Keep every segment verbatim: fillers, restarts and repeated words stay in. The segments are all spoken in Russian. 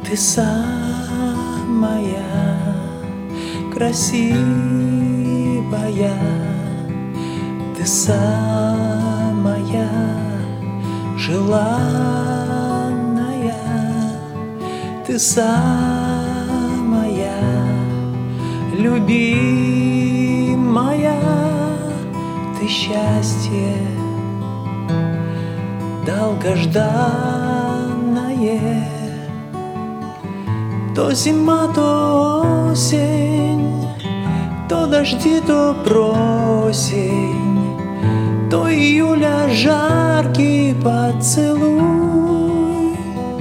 Ты самая красивая, ты самая желанная, ты самая любимая, ты счастье долгожданное. То зима, то осень, то дожди, то просень, то июля жаркий поцелуй.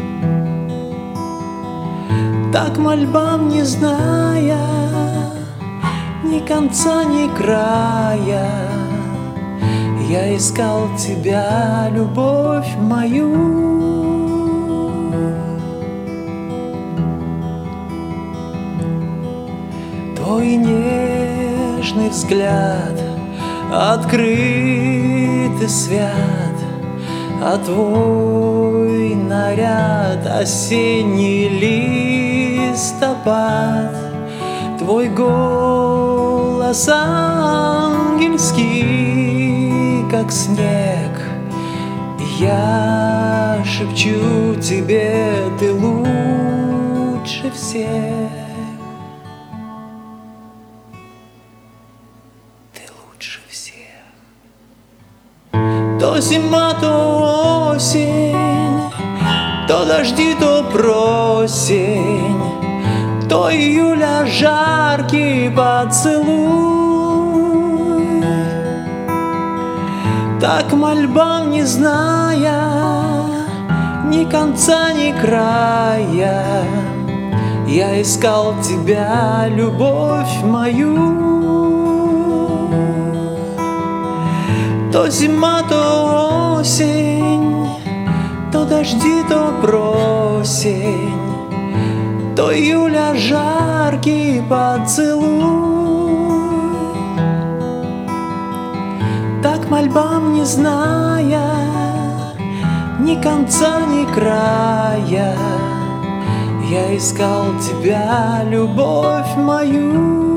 Так мольбам не зная ни конца, ни края, я искал тебя, любовь мою. Твой нежный взгляд, открытый свят, а твой наряд осенний листопад, твой голос ангельский, как снег, и я шепчу тебе, ты лучше всех. Лучше всех. То зима, то осень, то дожди, то просень, то июля жаркий поцелуй. Так мольбам не зная ни конца, ни края, я искал тебя, любовь мою. То зима, то осень, то дожди, то просень, то июля жаркий поцелуй. Так мольбам не зная ни конца, ни края, я искал тебя, любовь мою.